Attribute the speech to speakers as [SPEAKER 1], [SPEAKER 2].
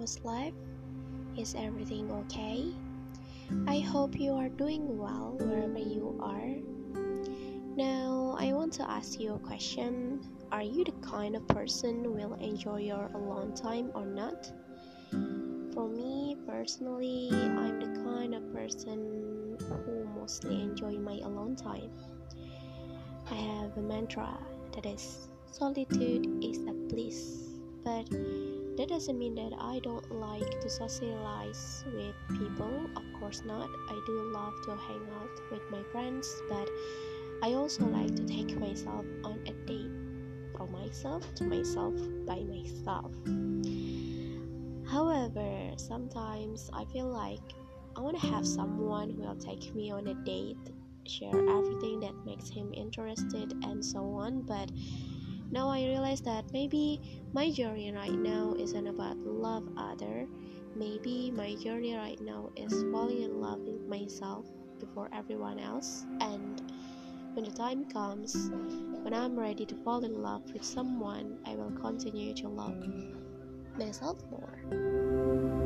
[SPEAKER 1] how's life? Is everything okay? I hope you are doing well wherever you are. Now, I want to ask you a question. Are you the kind of person who will enjoy your alone time or not? For me, personally, I'm the kind of person who mostly enjoy my alone time. I have a mantra that is solitude is a bliss, but that doesn't mean that I don't like to socialize with people. Of course not. I do love to hang out with my friends, but I also like to take myself on a date from myself to myself by myself. However, sometimes I feel like I want to have someone who will take me on a date, share everything that makes him interested, and so on. But now I realize that maybe my journey right now isn't about love other. Maybe my journey right now is falling in love with myself before everyone else. And when the time comes, when I'm ready to fall in love with someone, I will continue to love myself more.